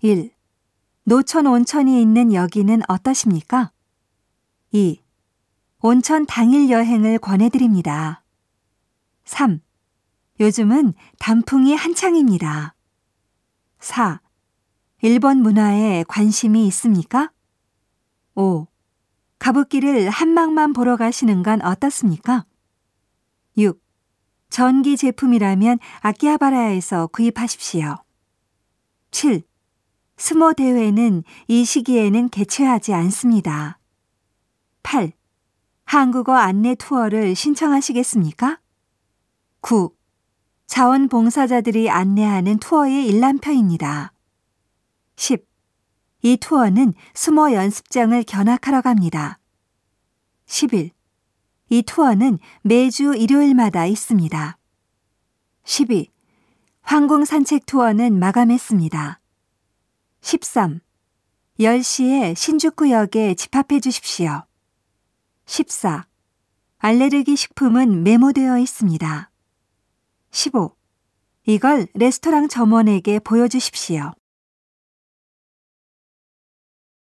1. 노천 온천이 있는 여기는 어떠십니까? 2. 온천 당일 여행을 권해드립니다. 3. 요즘은 단풍이 한창입니다. 4. 일본 문화에 관심이 있습니까? 5. 가부키를 한막만 보러 가시는 건 어떻습니까? 6. 전기 제품이라면 아키하바라에서 구입하십시오. 7. 스모 대회는 이 시기에는 개최하지 않습니다. 8. 한국어 안내 투어를 신청하시겠습니까? 9. 자원봉사자들이 안내하는 투어의 일람표입니다. 10. 이 투어는 수모 연습장을 견학하러 갑니다. 11. 이 투어는 매주 일요일마다 있습니다. 12. 황궁 산책 투어는 마감했습니다. 13. 10시에 신주쿠역에 집합해 주십시오. 14. 알레르기 식품은 메모되어 있습니다. 15. 이걸 레스토랑 점원에게 보여주십시오.